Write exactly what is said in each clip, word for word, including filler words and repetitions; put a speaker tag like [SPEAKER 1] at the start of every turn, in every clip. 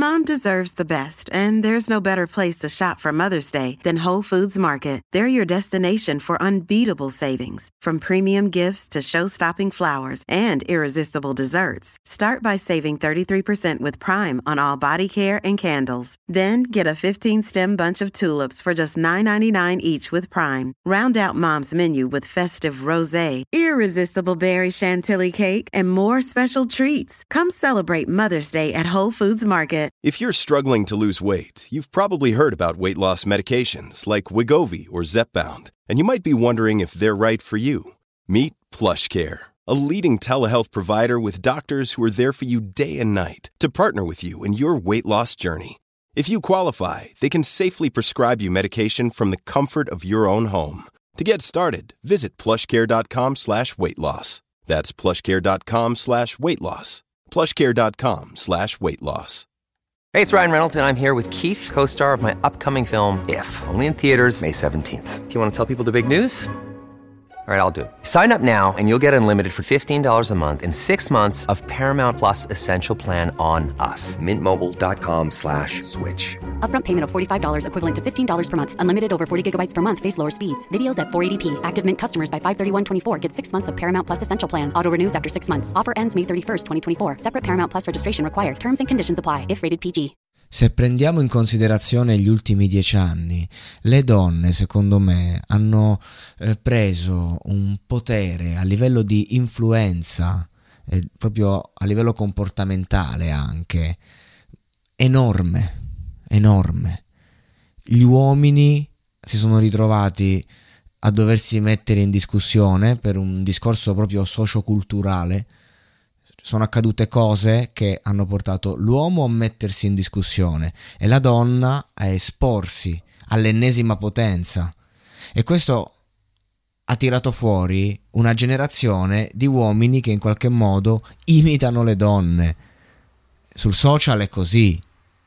[SPEAKER 1] Mom deserves the best, and there's no better place to shop for Mother's Day than Whole Foods Market. They're your destination for unbeatable savings, from premium gifts to show-stopping flowers and irresistible desserts. Start by saving thirty-three percent with Prime on all body care and candles. Then get a fifteen-stem bunch of tulips for just nine ninety-nine each with Prime. Round out Mom's menu with festive rosé, irresistible berry chantilly cake, and more special treats. Come celebrate Mother's Day at Whole Foods Market.
[SPEAKER 2] If you're struggling to lose weight, you've probably heard about weight loss medications like Wegovy or Zepbound, and you might be wondering if they're right for you. Meet PlushCare, a leading telehealth provider with doctors who are there for you day and night to partner with you in your weight loss journey. If you qualify, they can safely prescribe you medication from the comfort of your own home. To get started, visit plushcare.com slash weight loss. That's plushcare.com slash weight loss. plushcare.com slash weight loss.
[SPEAKER 3] Hey, it's Ryan Reynolds, and I'm here with Keith, co-star of my upcoming film, If, only in theaters May seventeenth. Do you want to tell people the big news? All right, I'll do it. Sign up now and you'll get unlimited for fifteen dollars a month and six months of Paramount Plus Essential Plan on us. Mint Mobile dot com slash switch.
[SPEAKER 4] Upfront payment of forty-five dollars equivalent to fifteen dollars per month. Unlimited over forty gigabytes per month. Face lower speeds. Videos at four eighty p. Active Mint customers by five thirty-one twenty-four get six months of Paramount Plus Essential Plan. Auto renews after six months. Offer ends May thirty-first, twenty twenty-four. Separate Paramount Plus registration required. Terms and conditions apply if rated P G.
[SPEAKER 5] Se prendiamo in considerazione gli ultimi dieci anni, le donne, secondo me, hanno eh, preso un potere a livello di influenza, eh, proprio a livello comportamentale anche, enorme, enorme. Gli uomini si sono ritrovati a doversi mettere in discussione per un discorso proprio socioculturale. Sono accadute cose che hanno portato l'uomo a mettersi in discussione e la donna a esporsi all'ennesima potenza, e questo ha tirato fuori una generazione di uomini che in qualche modo imitano le donne. Sul social è così.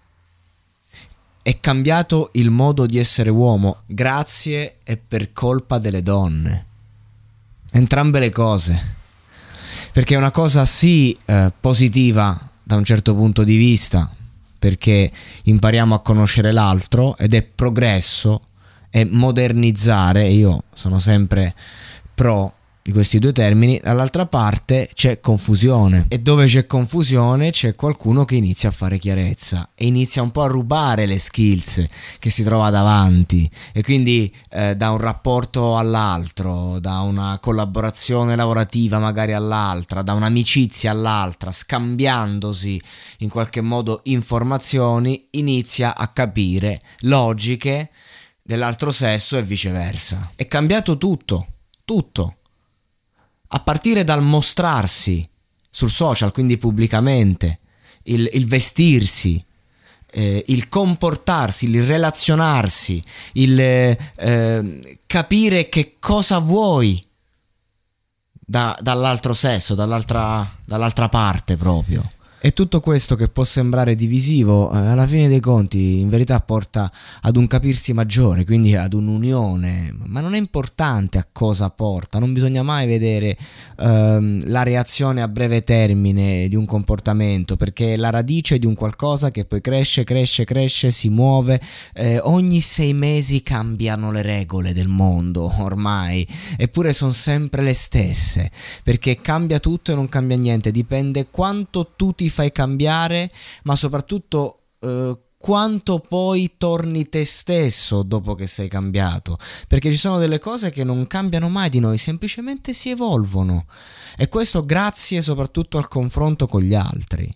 [SPEAKER 5] È cambiato il modo di essere uomo grazie e per colpa delle donne. Entrambe le cose. Perché è una cosa sì eh, positiva da un certo punto di vista, perché impariamo a conoscere l'altro ed è progresso, è modernizzare, io sono sempre pro di questi due termini. Dall'altra parte c'è confusione, e dove c'è confusione c'è qualcuno che inizia a fare chiarezza e inizia un po' a rubare le skills che si trova davanti, e quindi eh, da un rapporto all'altro, da una collaborazione lavorativa magari all'altra, da un'amicizia all'altra, scambiandosi in qualche modo informazioni, inizia a capire logiche dell'altro sesso e viceversa. È cambiato tutto, tutto. A partire dal mostrarsi sul social, quindi pubblicamente, il, il vestirsi, eh, il comportarsi, il relazionarsi, il eh, capire che cosa vuoi da, dall'altro sesso, dall'altra, dall'altra parte proprio. E tutto questo, che può sembrare divisivo, eh, alla fine dei conti in verità porta ad un capirsi maggiore, quindi ad un'unione. Ma non è importante a cosa porta, non bisogna mai vedere ehm, la reazione a breve termine di un comportamento, perché è la radice di un qualcosa che poi cresce, cresce, cresce, si muove. Eh, ogni sei mesi cambiano le regole del mondo ormai, eppure sono sempre le stesse, perché cambia tutto e non cambia niente, dipende quanto tu ti fai cambiare, ma soprattutto eh, quanto poi torni te stesso dopo che sei cambiato, perché ci sono delle cose che non cambiano mai di noi, semplicemente si evolvono, e questo grazie soprattutto al confronto con gli altri.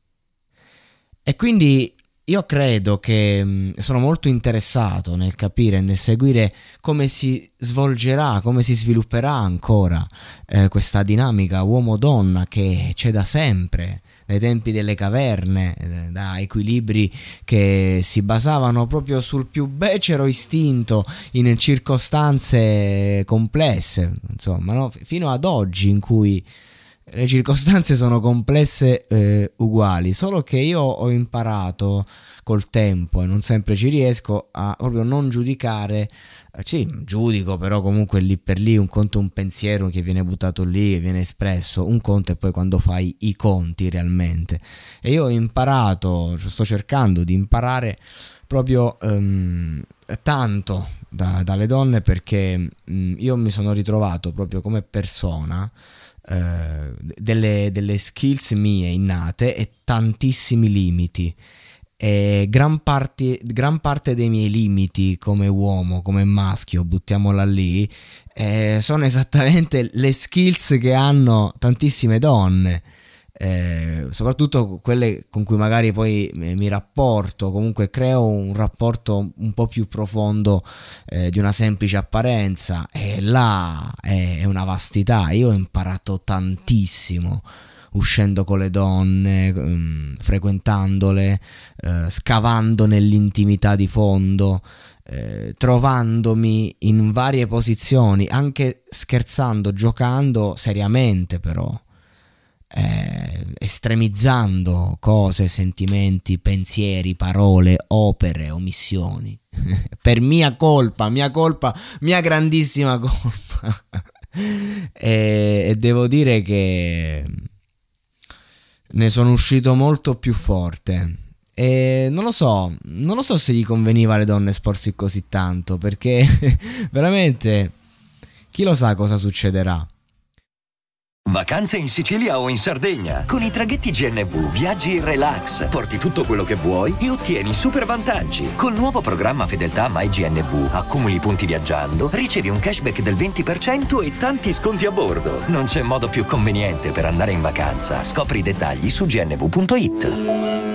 [SPEAKER 5] E quindi io credo che sono molto interessato nel capire, nel seguire come si svolgerà, come si svilupperà ancora eh, questa dinamica uomo-donna che c'è da sempre, dai tempi delle caverne, da equilibri che si basavano proprio sul più becero istinto in circostanze complesse, insomma, no? Fino ad oggi, in cui le circostanze sono complesse eh, uguali, solo che io ho imparato col tempo, e non sempre ci riesco, a proprio non giudicare. Eh, sì, giudico, però comunque lì per lì un conto è un pensiero che viene buttato lì, che viene espresso, un conto è poi quando fai i conti realmente. E io ho imparato, sto cercando di imparare proprio um, tanto da, dalle donne, perché um, io mi sono ritrovato proprio come persona uh, delle, delle skills mie innate e tantissimi limiti. E gran parte, gran parte dei miei limiti come uomo, come maschio, buttiamola lì, eh, sono esattamente le skills che hanno tantissime donne, eh, soprattutto quelle con cui magari poi mi rapporto, comunque creo un rapporto un po' più profondo eh, di una semplice apparenza, e là è, è una vastità. Io ho imparato tantissimo uscendo con le donne, um, frequentandole, uh, scavando nell'intimità di fondo, eh, trovandomi in varie posizioni, anche scherzando, giocando seriamente, però eh, estremizzando cose, sentimenti, pensieri, parole, opere, omissioni per mia colpa, mia colpa, mia grandissima colpa. e, e devo dire che ne sono uscito molto più forte, e non lo so, non lo so se gli conveniva alle donne esporsi così tanto, perché veramente chi lo sa cosa succederà.
[SPEAKER 6] Vacanze in Sicilia o in Sardegna. Con i traghetti G N V viaggi in relax, porti tutto quello che vuoi e ottieni super vantaggi. Col nuovo programma Fedeltà MyGNV accumuli punti viaggiando, ricevi un cashback del venti per cento e tanti sconti a bordo. Non c'è modo più conveniente per andare in vacanza. Scopri i dettagli su gnv punto it.